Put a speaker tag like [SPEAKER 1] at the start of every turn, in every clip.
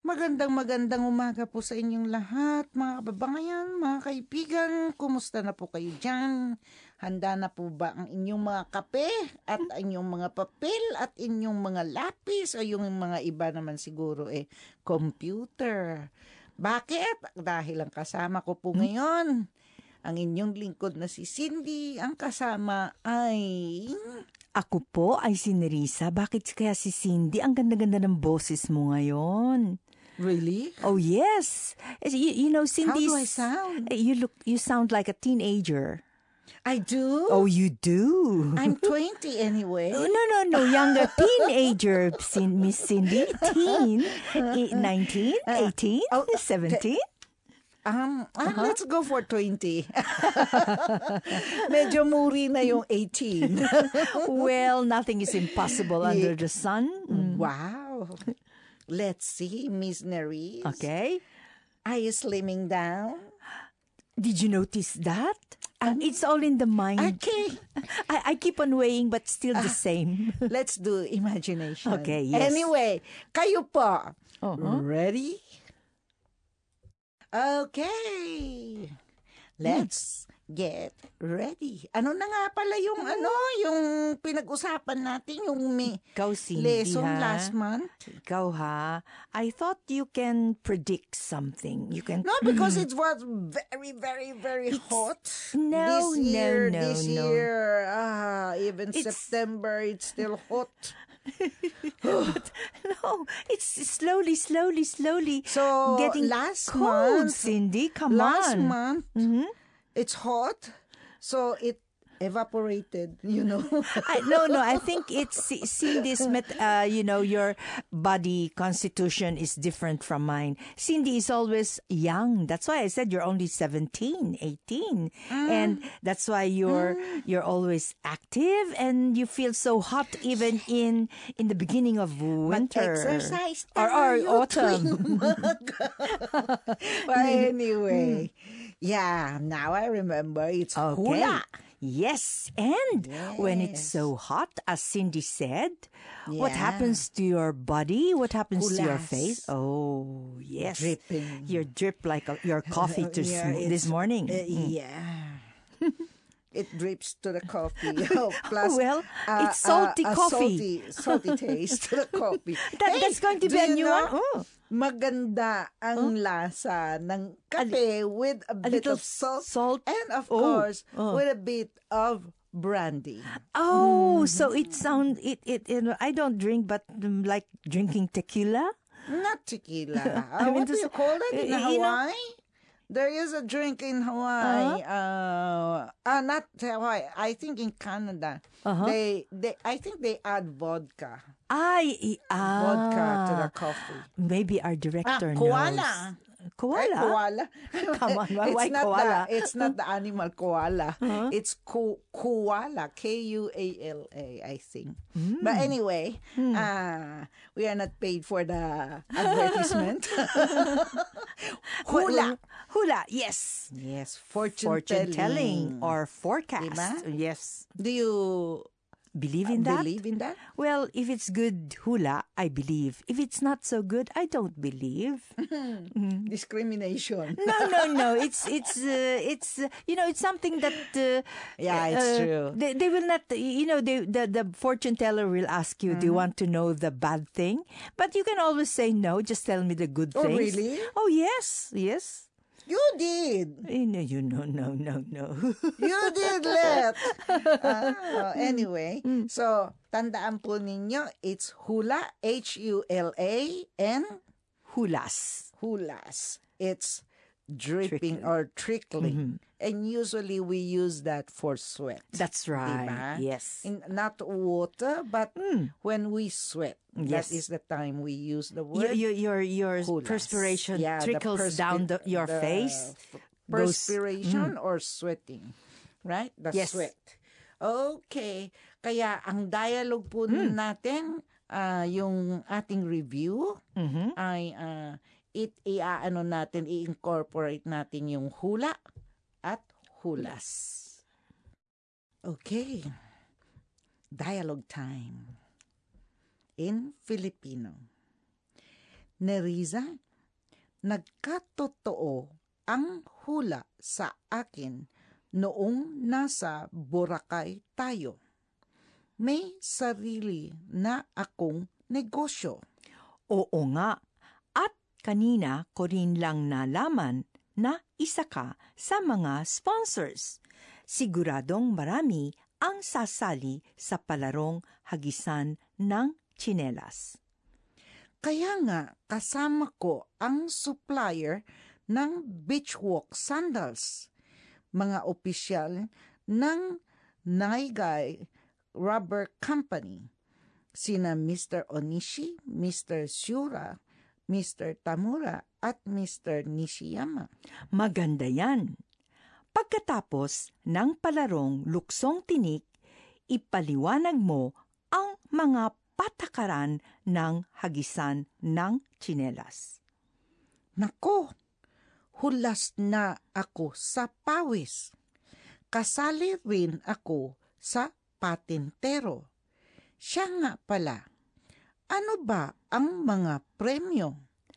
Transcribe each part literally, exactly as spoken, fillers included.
[SPEAKER 1] Magandang magandang umaga po sa inyong lahat, mga kababayan, mga kaibigan. Kumusta na po kayo dyan? Handa na po ba ang inyong mga kape at inyong mga papel at inyong mga lapis o yung mga iba naman siguro eh, computer? Bakit? Dahil ang kasama ko po ngayon, ang inyong lingkod na si Cindy, ang kasama ay...
[SPEAKER 2] Ako po ay si Nerissa. Bakit kaya si Cindy? Ang ganda-ganda ng boses mo ngayon.
[SPEAKER 1] Really?
[SPEAKER 2] Oh, yes. You, you know, Cindy.
[SPEAKER 1] How do I sound?
[SPEAKER 2] You look, you sound like a teenager.
[SPEAKER 1] I do?
[SPEAKER 2] Oh, you do?
[SPEAKER 1] I'm twenty anyway.
[SPEAKER 2] No, no, no. Younger teenager, Cin- Miss Cindy. Teen. Eh, nineteen, eighteen,
[SPEAKER 1] oh,
[SPEAKER 2] seventeen.
[SPEAKER 1] Um, ah, let's go for twenty. Medyo muri na yung eighteen.
[SPEAKER 2] Well, nothing is impossible under the sun. Mm.
[SPEAKER 1] Wow. Let's see, Miss Nerisse.
[SPEAKER 2] Okay.
[SPEAKER 1] Are you slimming down?
[SPEAKER 2] Did you notice that? Um, it's all in the mind.
[SPEAKER 1] Okay.
[SPEAKER 2] I, I keep on weighing but still the same.
[SPEAKER 1] Let's do imagination.
[SPEAKER 2] Okay, yes.
[SPEAKER 1] Anyway, kayo po.
[SPEAKER 2] Uh-huh.
[SPEAKER 1] Ready? Okay. Let's get ready. Ano na nga pala yung ano, yung pinag-usapan natin, yung may
[SPEAKER 2] Ikaw, Cindy,
[SPEAKER 1] lesson
[SPEAKER 2] ha?
[SPEAKER 1] last month?
[SPEAKER 2] Ikaw, ha? I thought you can predict something. You can...
[SPEAKER 1] No, because it was very, very, very hot.
[SPEAKER 2] No,
[SPEAKER 1] this year,
[SPEAKER 2] no, no,
[SPEAKER 1] this
[SPEAKER 2] no.
[SPEAKER 1] year, ah, even
[SPEAKER 2] It's-
[SPEAKER 1] September, it's still hot.
[SPEAKER 2] But, no, it's slowly, slowly, slowly
[SPEAKER 1] So,
[SPEAKER 2] getting
[SPEAKER 1] last
[SPEAKER 2] cold,
[SPEAKER 1] month,
[SPEAKER 2] Cindy. Come
[SPEAKER 1] last
[SPEAKER 2] on.
[SPEAKER 1] month,
[SPEAKER 2] Mhm.
[SPEAKER 1] it's hot, so it evaporated, you know.
[SPEAKER 2] I, no, no. I think it's C- Cindy's. Met, uh, you know, your body constitution is different from mine. Cindy is always young. That's why I said you're only seventeen, eighteen, and that's why you're you're always active and you feel so hot even in in the beginning of winter
[SPEAKER 1] Mag-exercise
[SPEAKER 2] or, or
[SPEAKER 1] tayo
[SPEAKER 2] autumn.
[SPEAKER 1] tuwing umaga. But anyway, yeah, now I remember it's
[SPEAKER 2] Okay.
[SPEAKER 1] hula.
[SPEAKER 2] Yes, and when it's
[SPEAKER 1] Yes.
[SPEAKER 2] so hot, as Cindy said, what
[SPEAKER 1] Yeah.
[SPEAKER 2] happens to your body? What happens to your
[SPEAKER 1] Hulas.
[SPEAKER 2] face? Oh, yes.
[SPEAKER 1] Dripping.
[SPEAKER 2] You drip like a, your coffee to
[SPEAKER 1] Yeah,
[SPEAKER 2] sm- this
[SPEAKER 1] it's-
[SPEAKER 2] morning.
[SPEAKER 1] Uh, yeah. It drips to the coffee. Oh, plus,
[SPEAKER 2] Well,
[SPEAKER 1] uh,
[SPEAKER 2] it's salty
[SPEAKER 1] uh, a
[SPEAKER 2] coffee.
[SPEAKER 1] salty, salty taste to the coffee.
[SPEAKER 2] That-
[SPEAKER 1] Hey,
[SPEAKER 2] that's going to
[SPEAKER 1] do
[SPEAKER 2] be a
[SPEAKER 1] you
[SPEAKER 2] new
[SPEAKER 1] know,
[SPEAKER 2] one? Oh.
[SPEAKER 1] Maganda ang lasa ng kape with a, bit
[SPEAKER 2] little
[SPEAKER 1] of salt,
[SPEAKER 2] salt.
[SPEAKER 1] and of
[SPEAKER 2] Oh,
[SPEAKER 1] course
[SPEAKER 2] oh.
[SPEAKER 1] with a bit of brandy.
[SPEAKER 2] Oh, so it sound it it, it I don't drink, but um, like drinking tequila.
[SPEAKER 1] Not tequila.
[SPEAKER 2] I
[SPEAKER 1] Uh,
[SPEAKER 2] mean
[SPEAKER 1] what
[SPEAKER 2] to
[SPEAKER 1] do you
[SPEAKER 2] say-
[SPEAKER 1] call it in
[SPEAKER 2] you know-
[SPEAKER 1] Hawaii? There is a drink in Hawaii. Uh, uh, not Hawaii. I think in Canada.
[SPEAKER 2] Uh-huh.
[SPEAKER 1] They, they, I think they add vodka.
[SPEAKER 2] Ay, ah,
[SPEAKER 1] Vodka to the coffee.
[SPEAKER 2] Maybe our
[SPEAKER 1] Ah,
[SPEAKER 2] director
[SPEAKER 1] koala.
[SPEAKER 2] knows.
[SPEAKER 1] Ay,
[SPEAKER 2] Koala.
[SPEAKER 1] koala.
[SPEAKER 2] Come on, why-
[SPEAKER 1] it's
[SPEAKER 2] why
[SPEAKER 1] not
[SPEAKER 2] koala?
[SPEAKER 1] The, it's not the animal koala. It's ko- koala. K U A L A, I think.
[SPEAKER 2] Hmm.
[SPEAKER 1] But anyway, uh, we are not paid for the advertisement. Hula.
[SPEAKER 2] Hula, yes.
[SPEAKER 1] Yes, fortune,
[SPEAKER 2] Fortune
[SPEAKER 1] telling.
[SPEAKER 2] telling or forecast.
[SPEAKER 1] Diba?
[SPEAKER 2] Yes.
[SPEAKER 1] Do you
[SPEAKER 2] Believe in that?
[SPEAKER 1] believe in that?
[SPEAKER 2] Well, if it's good hula, I believe. If it's not so good, I don't believe.
[SPEAKER 1] Discrimination.
[SPEAKER 2] No, no, no. It's it's uh, it's uh, you know it's something that uh,
[SPEAKER 1] Yeah, it's
[SPEAKER 2] uh,
[SPEAKER 1] true.
[SPEAKER 2] They, they will not you know they, the the fortune teller will ask you, do you want to know the bad thing? But you can always say no. Just tell me the good
[SPEAKER 1] Oh,
[SPEAKER 2] things.
[SPEAKER 1] really?
[SPEAKER 2] Oh yes, yes.
[SPEAKER 1] You did.
[SPEAKER 2] Eh, No, you no no no no.
[SPEAKER 1] You did, Let. Ah, anyway, so tandaan po ninyo, it's hula, H U L A, and
[SPEAKER 2] Hulas.
[SPEAKER 1] hulas. It's dripping
[SPEAKER 2] Trickling.
[SPEAKER 1] or trickling. And usually we use that for sweat.
[SPEAKER 2] That's right.
[SPEAKER 1] Diba?
[SPEAKER 2] Yes.
[SPEAKER 1] In, not water, but when we sweat. That
[SPEAKER 2] Yes.
[SPEAKER 1] is the time we use the
[SPEAKER 2] Your
[SPEAKER 1] word.
[SPEAKER 2] your your, your
[SPEAKER 1] hulas.
[SPEAKER 2] perspiration
[SPEAKER 1] Yeah, the
[SPEAKER 2] trickles
[SPEAKER 1] perspi-
[SPEAKER 2] down the, your
[SPEAKER 1] the
[SPEAKER 2] face.
[SPEAKER 1] f-
[SPEAKER 2] goes-
[SPEAKER 1] Perspiration or sweating. Right? The
[SPEAKER 2] Yes.
[SPEAKER 1] sweat. Okay. Kaya ang dialogue po natin, ah, yung ating review, ay ah, it iaano natin, i-incorporate natin yung hula at hulas. Okay. Dialogue time. In Filipino. Neriza, nagkatotoo ang hula sa akin noong nasa Boracay tayo. May sarili na akong negosyo.
[SPEAKER 2] Oo nga. At kanina ko rin lang nalaman na isa ka sa mga sponsors. Siguradong marami ang sasali sa palarong hagisan ng tsinelas.
[SPEAKER 1] Kaya nga kasama ko ang supplier ng Beachwalk Sandals, mga opisyal ng Naigay Rubber Company, sina Mister Onishi, Mister Shura, Mister Tamura at Mister Nishiyama.
[SPEAKER 2] Maganda yan. Pagkatapos ng palarong luksong tinik, ipaliwanag mo ang mga patakaran ng hagisan ng tsinelas.
[SPEAKER 1] Nako, hulas na ako sa pawis. Kasali rin ako sa patintero. Siya nga pala, ano ba ang mga premyo?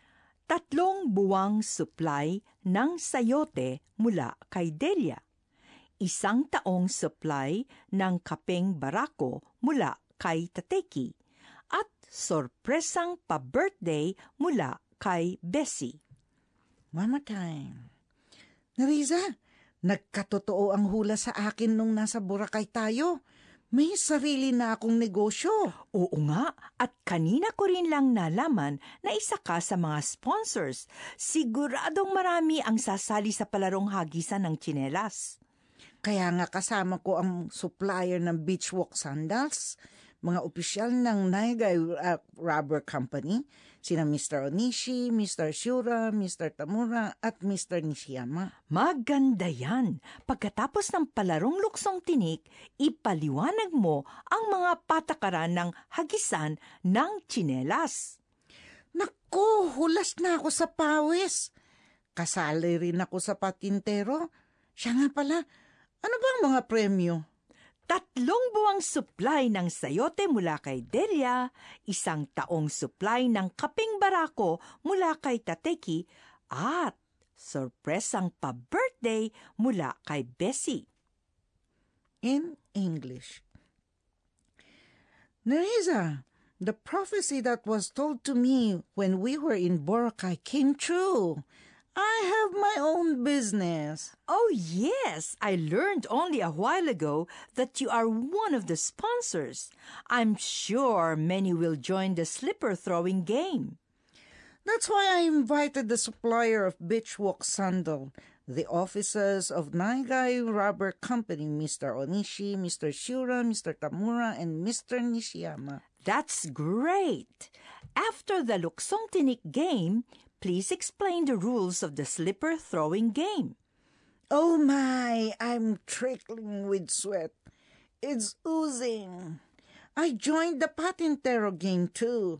[SPEAKER 2] Tatlong buwang supply ng sayote mula kay Delia. Isang taong supply ng kapeng barako mula kay Tateki. At sorpresang pa-birthday mula kay Bessie.
[SPEAKER 1] Mama time. Neriza, nagkatotoo ang hula sa akin nung nasa Boracay tayo. May sarili na akong negosyo.
[SPEAKER 2] Oo nga, at kanina ko rin lang nalaman na isa ka sa mga sponsors. Siguradong marami ang sasali sa palarong hagisan ng tsinelas.
[SPEAKER 1] Kaya nga kasama ko ang supplier ng Beachwalk Sandals, mga opisyal ng Naigay uh, Rubber Company, sina Mister Onishi, Mister Shura, Mister Tamura at Mister Nishiyama.
[SPEAKER 2] Maganda yan. Pagkatapos ng palarong luksong tinik, ipaliwanag mo ang mga patakaran ng hagisan ng tsinelas.
[SPEAKER 1] Naku, hulas na ako sa pawis. Kasali rin ako sa patintero. Siya nga pala, ano bang mga premyo?
[SPEAKER 2] Tatlong buwang supply ng sayote mula kay Delia, isang taong supply ng kaping barako mula kay Tateki, at sorpresang pa-birthday mula kay Bessie.
[SPEAKER 1] In English. Nereza, the prophecy that was told to me when we were in Boracay came true. I have my own business.
[SPEAKER 2] Oh yes, I learned only a while ago that you are one of the sponsors. I'm sure many will join the slipper throwing game.
[SPEAKER 1] That's why I invited the supplier of Beachwalk Sandal, the officers of Naigay Rubber Company, Mister Onishi, Mister Shura, Mister Tamura, and Mister Nishiyama.
[SPEAKER 2] That's great. After the luksong tinik game, please explain the rules of the slipper throwing game.
[SPEAKER 1] Oh my, I'm trickling with sweat. It's oozing. I joined the patintero game too.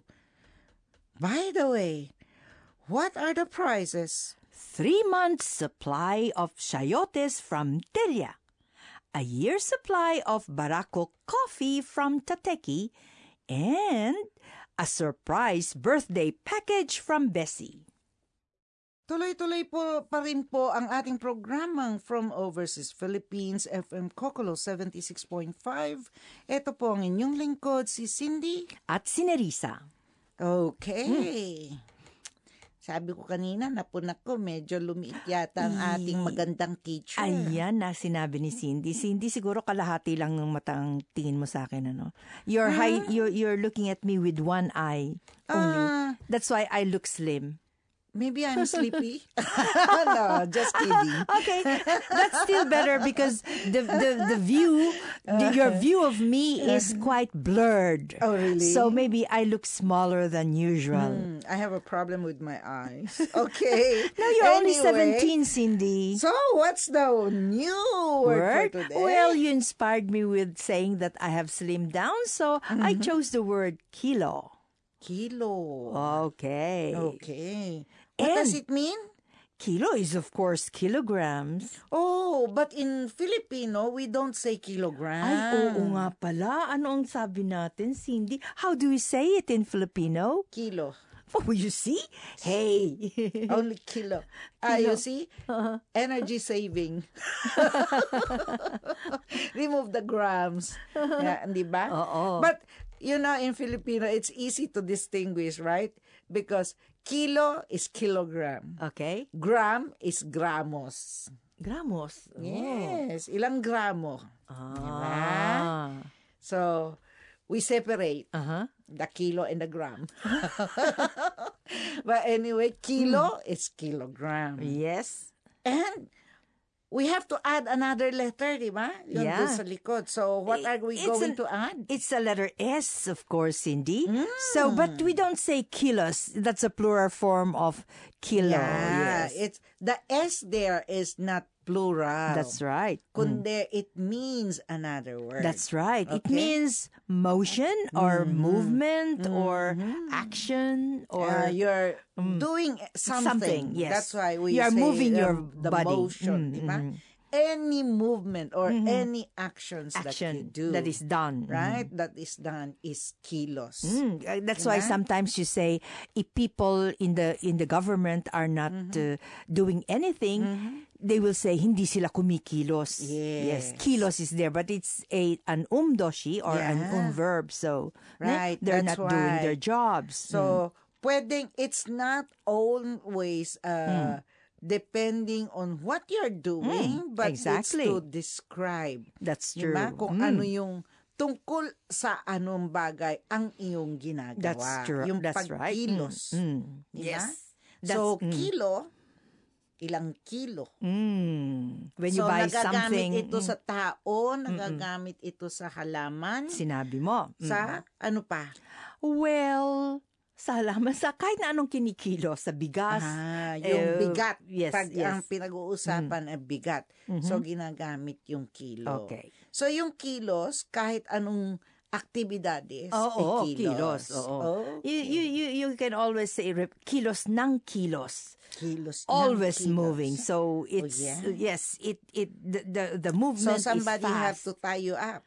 [SPEAKER 1] By the way, what are the prizes?
[SPEAKER 2] Three months' supply of chayotes from Delia, a year's supply of Barako coffee from Tateki, and a surprise birthday package from Bessie.
[SPEAKER 1] Tuloy-tuloy po pa rin po ang ating programang From Overseas Philippines, F M Kokolo seventy-six point five. Ito po ang inyong lingkod, si Cindy.
[SPEAKER 2] At si Nerissa.
[SPEAKER 1] Okay. Hmm. Sabi ko kanina, napunak ko, medyo lumiit yata ang ating magandang teacher.
[SPEAKER 2] Ayan na sinabi ni Cindy. Cindy, siguro kalahati lang ng matang tingin mo sa akin, ano? You're, huh? high, you're, you're looking at me with one eye only. Uh, That's why I look slim.
[SPEAKER 1] Maybe I'm sleepy. No, just kidding.
[SPEAKER 2] Okay, that's still better because the the, the view, the, your view of me is quite blurred.
[SPEAKER 1] Oh, really?
[SPEAKER 2] So maybe I look smaller than usual.
[SPEAKER 1] Mm, I have a problem with my eyes. Okay.
[SPEAKER 2] No, you're
[SPEAKER 1] anyway,
[SPEAKER 2] only seventeen, Cindy.
[SPEAKER 1] So what's the new word,
[SPEAKER 2] word
[SPEAKER 1] for today?
[SPEAKER 2] Well, you inspired me with saying that I have slimmed down, so mm-hmm. I chose the word kilo.
[SPEAKER 1] Kilo.
[SPEAKER 2] Okay.
[SPEAKER 1] Okay. What
[SPEAKER 2] And
[SPEAKER 1] does it mean?
[SPEAKER 2] Kilo is, of course, kilograms.
[SPEAKER 1] Oh, but in Filipino, we don't say kilogram.
[SPEAKER 2] Ay, oo nga pala. Ano ang sabi natin, Cindy? How do we say it in Filipino?
[SPEAKER 1] Kilo.
[SPEAKER 2] Oh, you see? Hey.
[SPEAKER 1] Only kilo. Ah,
[SPEAKER 2] Kilo.
[SPEAKER 1] you see? Energy saving. Remove the grams. Yeah, di ba?
[SPEAKER 2] Oo.
[SPEAKER 1] But, you know, in Filipino, it's easy to distinguish, right? Because kilo is kilogram.
[SPEAKER 2] Okay.
[SPEAKER 1] Gram is gramos.
[SPEAKER 2] Gramos. Oh.
[SPEAKER 1] Yes. Ilang gramo.
[SPEAKER 2] Ah.
[SPEAKER 1] So, we separate
[SPEAKER 2] Uh-huh.
[SPEAKER 1] the kilo and the gram. But anyway, kilo is kilogram.
[SPEAKER 2] Yes.
[SPEAKER 1] And we have to add another letter, di ba? Yun
[SPEAKER 2] Yeah.
[SPEAKER 1] dun sa likod. So, what are we
[SPEAKER 2] It's
[SPEAKER 1] going
[SPEAKER 2] an-
[SPEAKER 1] to add?
[SPEAKER 2] It's a letter S, of course, Cindy.
[SPEAKER 1] Mm.
[SPEAKER 2] So, but we don't say kilos. That's a plural form of kilo.
[SPEAKER 1] Yeah,
[SPEAKER 2] Yes.
[SPEAKER 1] it's the S there is not plural.
[SPEAKER 2] That's right.
[SPEAKER 1] Kundi it means another word.
[SPEAKER 2] That's right. It
[SPEAKER 1] Okay.
[SPEAKER 2] means motion or movement or action or
[SPEAKER 1] Uh, you're doing something.
[SPEAKER 2] something, yes.
[SPEAKER 1] That's why we
[SPEAKER 2] You are
[SPEAKER 1] say
[SPEAKER 2] moving
[SPEAKER 1] um,
[SPEAKER 2] your
[SPEAKER 1] the
[SPEAKER 2] body.
[SPEAKER 1] motion,
[SPEAKER 2] Mm,
[SPEAKER 1] di ba?
[SPEAKER 2] mm.
[SPEAKER 1] Any movement or any actions that you
[SPEAKER 2] action
[SPEAKER 1] do,
[SPEAKER 2] that is done.
[SPEAKER 1] right? That is done is kilos.
[SPEAKER 2] Mm, uh, that's why
[SPEAKER 1] Diba?
[SPEAKER 2] sometimes you say if people in the in the government are not uh, doing anything, they will say hindi sila kumikilos.
[SPEAKER 1] Yes.
[SPEAKER 2] Kilos is there, but it's a an umdoshi or an
[SPEAKER 1] Yeah.
[SPEAKER 2] um verb. So ne,
[SPEAKER 1] Right,
[SPEAKER 2] they're
[SPEAKER 1] that's
[SPEAKER 2] not doing
[SPEAKER 1] why.
[SPEAKER 2] their jobs.
[SPEAKER 1] So, pwedeng, it's not always uh, depending on what you're doing, but
[SPEAKER 2] exactly.
[SPEAKER 1] it's to describe.
[SPEAKER 2] That's
[SPEAKER 1] Di
[SPEAKER 2] true.
[SPEAKER 1] ba? Kung
[SPEAKER 2] Mm.
[SPEAKER 1] ano yung tungkol sa anong bagay ang iyong ginagawa.
[SPEAKER 2] That's true.
[SPEAKER 1] Yung
[SPEAKER 2] That's right.
[SPEAKER 1] pagkilos.
[SPEAKER 2] Mm. Mm.
[SPEAKER 1] Di ba?
[SPEAKER 2] Yes.
[SPEAKER 1] So,
[SPEAKER 2] That's- mm.
[SPEAKER 1] kilo, ilang kilo.
[SPEAKER 2] Mm. When you
[SPEAKER 1] so,
[SPEAKER 2] buy
[SPEAKER 1] nagagamit
[SPEAKER 2] something,
[SPEAKER 1] ito
[SPEAKER 2] mm,
[SPEAKER 1] sa tao, nagagamit ito sa halaman,
[SPEAKER 2] sinabi mo. Mm.
[SPEAKER 1] sa ano pa?
[SPEAKER 2] Well, sa halaman, sa kahit na anong kinikilo, sa bigas.
[SPEAKER 1] Ah, yung
[SPEAKER 2] eh,
[SPEAKER 1] bigat.
[SPEAKER 2] Yes,
[SPEAKER 1] Pag
[SPEAKER 2] yes.
[SPEAKER 1] ang pinag-uusapan ay bigat. So, ginagamit yung kilo.
[SPEAKER 2] Okay.
[SPEAKER 1] So, yung kilos, kahit anong aktibidades,
[SPEAKER 2] Oo,
[SPEAKER 1] ay
[SPEAKER 2] kilos.
[SPEAKER 1] kilos.
[SPEAKER 2] Oo.
[SPEAKER 1] Okay.
[SPEAKER 2] You, you, you, you can always say rep- kilos ng kilos.
[SPEAKER 1] Kilos ng
[SPEAKER 2] Always
[SPEAKER 1] kilos.
[SPEAKER 2] moving. So it's
[SPEAKER 1] yeah.
[SPEAKER 2] yes, it it the the, the
[SPEAKER 1] So,
[SPEAKER 2] movement
[SPEAKER 1] somebody
[SPEAKER 2] is
[SPEAKER 1] have
[SPEAKER 2] fast.
[SPEAKER 1] to tie you up.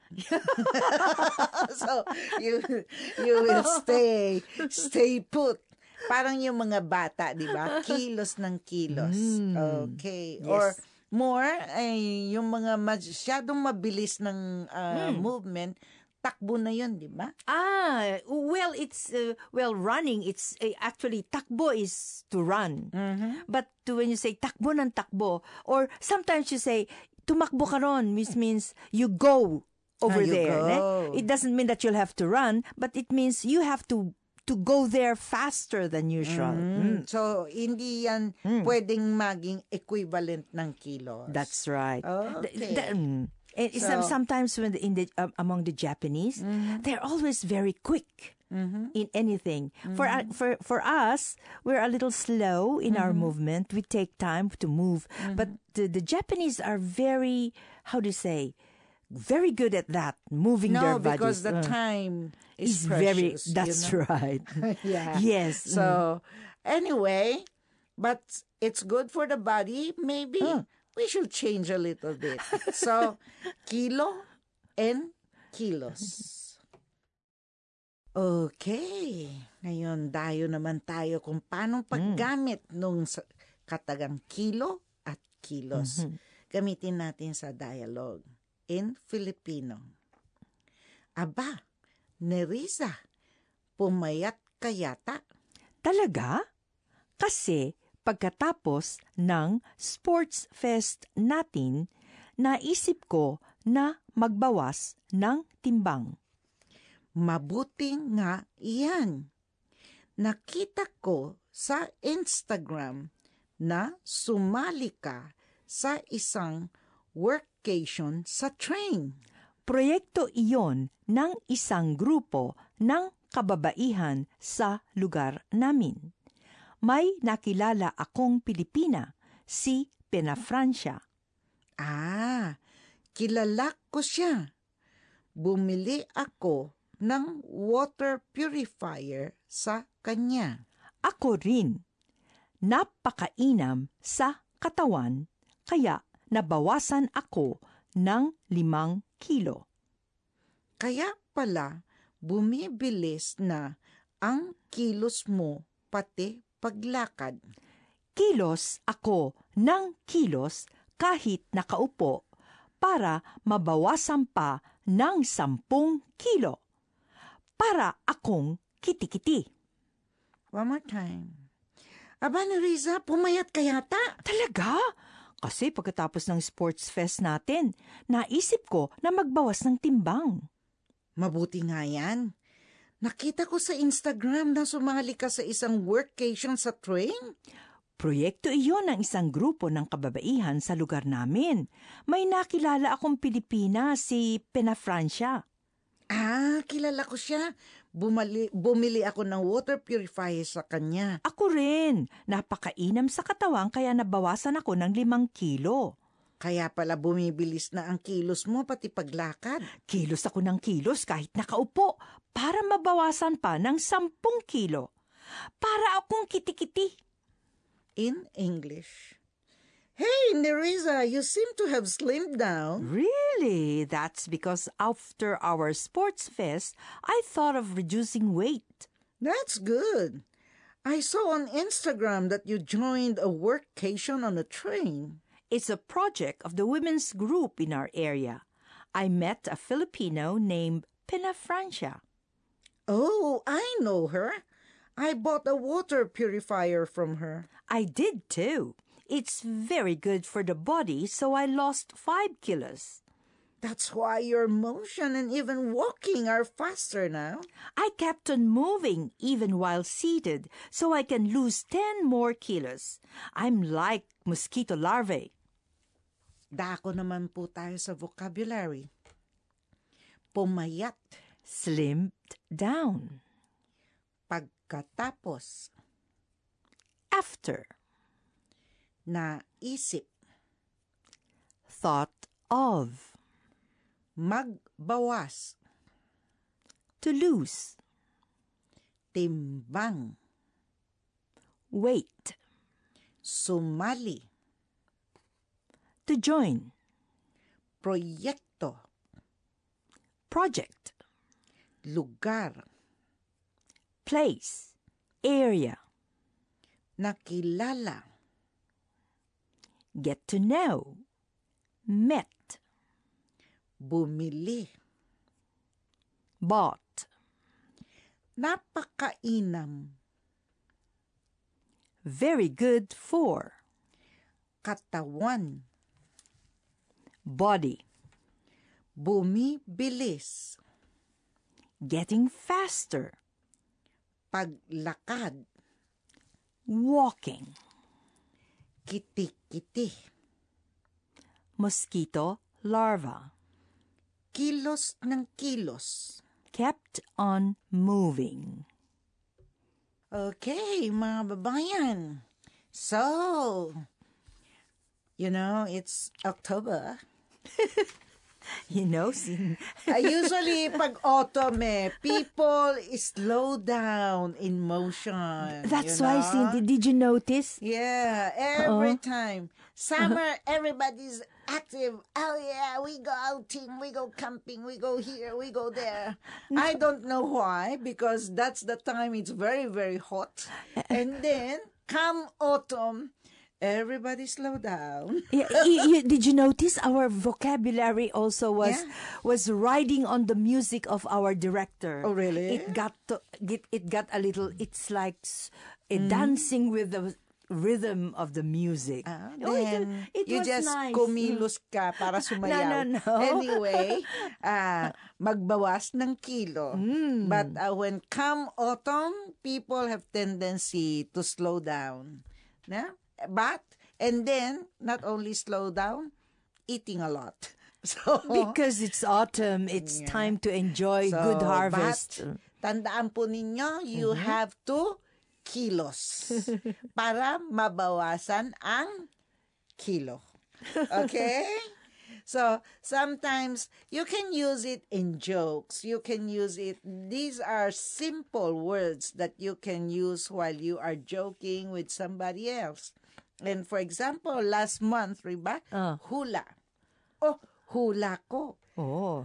[SPEAKER 1] So, you you will stay, stay put. Parang yung mga bata, di ba? Kilos ng kilos. Okay.
[SPEAKER 2] Yes.
[SPEAKER 1] Or more, ay yung mga masyadong mabilis ng uh, movement, takbo na yun, di ba?
[SPEAKER 2] Ah, well, it's uh, well running. It's uh, actually takbo is to run. But to, when you say takbo ng takbo, or sometimes you say tumakbo ka ron, which means you go over
[SPEAKER 1] Ah, you
[SPEAKER 2] there. ne?
[SPEAKER 1] go.
[SPEAKER 2] It doesn't mean that you'll have to run, but it means you have to to go there faster than usual. Mm.
[SPEAKER 1] So, hindi yan pwedeng maging equivalent ng kilos.
[SPEAKER 2] That's right.
[SPEAKER 1] Okay.
[SPEAKER 2] The- the- mm. And it's some-
[SPEAKER 1] So-
[SPEAKER 2] sometimes when the, in the um, among the Japanese, they're always very quick in anything. For uh, for for us, we're a little slow in our movement. We take time to move, but the, the Japanese are very, how do you say, very good at that, moving
[SPEAKER 1] No,
[SPEAKER 2] their
[SPEAKER 1] because
[SPEAKER 2] bodies.
[SPEAKER 1] the
[SPEAKER 2] Uh,
[SPEAKER 1] time is
[SPEAKER 2] is very.
[SPEAKER 1] precious. you
[SPEAKER 2] That's
[SPEAKER 1] know?
[SPEAKER 2] right.
[SPEAKER 1] Yeah.
[SPEAKER 2] Yes.
[SPEAKER 1] So, anyway, but it's good for the body. Maybe we should change a little bit. So, kilo and kilos. Okay. Ngayon, dayo naman tayo kung paano paggamit nung sa- katagang kilo at kilos. Gamitin natin sa dialogue in Filipino. Aba, Nerissa, pumayat ka yata.
[SPEAKER 2] Talaga? Kasi pagkatapos ng sports fest natin, naisip ko na magbawas ng timbang.
[SPEAKER 1] Mabuti nga iyan. Nakita ko sa Instagram na sumali ka sa isang workation sa train.
[SPEAKER 2] Proyekto iyon ng isang grupo ng kababaihan sa lugar namin. May nakilala akong Pilipina, si Pena Francia.
[SPEAKER 1] Ah, kilala ko siya. Bumili ako ng water purifier sa kanya.
[SPEAKER 2] Ako rin. Napakainam sa katawan, kaya nabawasan ako ng limang kilo.
[SPEAKER 1] Kaya pala, bumibilis na ang kilos mo pati paglakad.
[SPEAKER 2] Kilos ako ng kilos kahit nakaupo para mabawasan pa ng sampung kilo. Para akong kitikiti.
[SPEAKER 1] One more time. Aba, Nerissa, pumayat ka yata.
[SPEAKER 2] Talaga? Kasi pagkatapos ng sports fest natin, naisip ko na magbawas ng timbang.
[SPEAKER 1] Mabuti nga yan. Nakita ko sa Instagram na sumali ka sa isang workation sa train.
[SPEAKER 2] Proyekto iyon ng isang grupo ng kababaihan sa lugar namin. May nakilala akong Pilipina, si Pena Francia.
[SPEAKER 1] Ah, kilala ko siya. Bumali, bumili ako ng water purifier sa kanya.
[SPEAKER 2] Ako rin. Napakainam sa katawan kaya nabawasan ako ng limang kilo.
[SPEAKER 1] Kaya pala bumibilis na ang kilos mo pati paglakad.
[SPEAKER 2] Kilos ako ng kilos kahit nakaupo para mabawasan pa ng sampung kilo. Para akong kitikiti.
[SPEAKER 1] In English. Hey, Nerissa, you seem to have slimmed down.
[SPEAKER 2] Really? That's because after our sports fest, I thought of reducing weight.
[SPEAKER 1] That's good. I saw on Instagram that you joined a workation on a train.
[SPEAKER 2] It's a project of the women's group in our area. I met a Filipino named Pena Francia.
[SPEAKER 1] Oh, I know her. I bought a water purifier from her.
[SPEAKER 2] I did too. It's very good for the body, so I lost five kilos.
[SPEAKER 1] That's why your motion and even walking are faster now.
[SPEAKER 2] I kept on moving even while seated, so I can lose ten more kilos. I'm like mosquito larvae.
[SPEAKER 1] Dako naman po tayo sa vocabulary. Pumayat.
[SPEAKER 2] Slimmed down.
[SPEAKER 1] Pagkatapos.
[SPEAKER 2] After.
[SPEAKER 1] Naisip.
[SPEAKER 2] Thought of.
[SPEAKER 1] Magbawas.
[SPEAKER 2] To lose.
[SPEAKER 1] Timbang.
[SPEAKER 2] Weight.
[SPEAKER 1] Sumali.
[SPEAKER 2] To join.
[SPEAKER 1] Proyekto.
[SPEAKER 2] Project.
[SPEAKER 1] Lugar.
[SPEAKER 2] Place. Area.
[SPEAKER 1] Nakilala.
[SPEAKER 2] Get to know. Met.
[SPEAKER 1] Bumili.
[SPEAKER 2] Bought.
[SPEAKER 1] Napakainam.
[SPEAKER 2] Very good for.
[SPEAKER 1] Katawan.
[SPEAKER 2] Body.
[SPEAKER 1] Bumibilis.
[SPEAKER 2] Getting faster.
[SPEAKER 1] Paglakad.
[SPEAKER 2] Walking.
[SPEAKER 1] Kiti-kiti.
[SPEAKER 2] Mosquito larva.
[SPEAKER 1] Kilos ng kilos.
[SPEAKER 2] Kept on moving.
[SPEAKER 1] Okay, mga babayan. So, you know, it's October.
[SPEAKER 2] You know, sin-
[SPEAKER 1] Uh, usually, pag autumn eh, people slow down in motion.
[SPEAKER 2] That's
[SPEAKER 1] you
[SPEAKER 2] why,
[SPEAKER 1] know?
[SPEAKER 2] Cindy, did you notice?
[SPEAKER 1] Yeah, every time. Summer, everybody's active. Oh yeah, we go outing, we go camping, we go here, we go there. I don't know why, because that's the time it's very, very hot. And then, come autumn, everybody slow down.
[SPEAKER 2] Yeah, y- y- did you notice our vocabulary also was
[SPEAKER 1] Yeah.
[SPEAKER 2] was riding on the music of our director?
[SPEAKER 1] Oh, really?
[SPEAKER 2] It got to, it, it got a little. It's like s- a dancing with the rhythm of the music.
[SPEAKER 1] Ah,
[SPEAKER 2] Oh, it-
[SPEAKER 1] then
[SPEAKER 2] it
[SPEAKER 1] you
[SPEAKER 2] was
[SPEAKER 1] just
[SPEAKER 2] nice.
[SPEAKER 1] kumilos ka para sumayaw.
[SPEAKER 2] No, no, no.
[SPEAKER 1] Anyway, ah, magbawas ng kilo.
[SPEAKER 2] Hmm.
[SPEAKER 1] But ah, when come autumn, people have tendency to slow down. Yeah? But, and then, not only slow down, eating a lot. So,
[SPEAKER 2] Because it's autumn, it's
[SPEAKER 1] Yeah.
[SPEAKER 2] time to enjoy
[SPEAKER 1] so,
[SPEAKER 2] good harvest.
[SPEAKER 1] But, tandaan po ninyo, you have to kilos para mabawasan ang kilo. Okay? So, sometimes you can use it in jokes. You can use it. These are simple words that you can use while you are joking with somebody else. And for example, last month, riba,
[SPEAKER 2] Ah.
[SPEAKER 1] hula. Oh, hula ko.
[SPEAKER 2] Oh.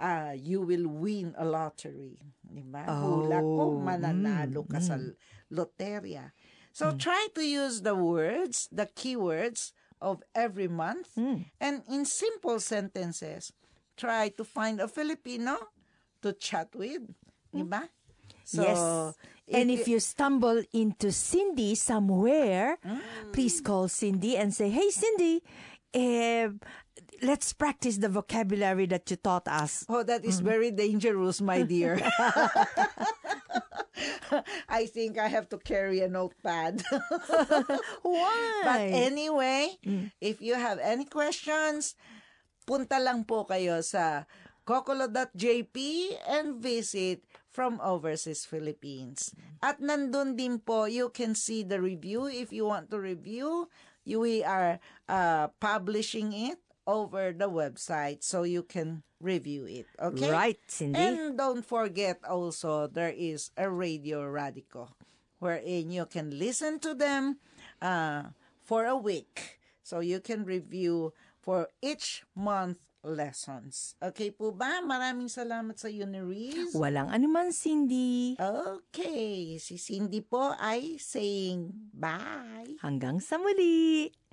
[SPEAKER 1] uh, you will win a lottery. Diba?
[SPEAKER 2] Oh,
[SPEAKER 1] Hula ko, mananalo
[SPEAKER 2] mm,
[SPEAKER 1] ka sa loterya. So try to use the words, the keywords of every month, and in simple sentences, try to find a Filipino to chat with. Diba? So,
[SPEAKER 2] yes. And if you stumble into Cindy somewhere, please call Cindy and say, "Hey, Cindy, eh, let's practice the vocabulary that you taught us."
[SPEAKER 1] Oh, that is very dangerous, my dear. I think I have to carry a notepad.
[SPEAKER 2] Why?
[SPEAKER 1] But anyway, if you have any questions, punta lang po kayo sa kokolo dot j p and visit From Overseas Philippines. At nandun din po, you can see the review. If you want to review, you, we are uh, publishing it over the website so you can review it. Okay?
[SPEAKER 2] Right, Cindy.
[SPEAKER 1] And don't forget also, there is a Radio Radico wherein you can listen to them uh, for a week. So you can review for each month lessons. Okay po ba? Maraming salamat sa iyo, Nerese.
[SPEAKER 2] Walang anuman, Cindy.
[SPEAKER 1] Okay. Si Cindy po ay saying bye.
[SPEAKER 2] Hanggang sa muli.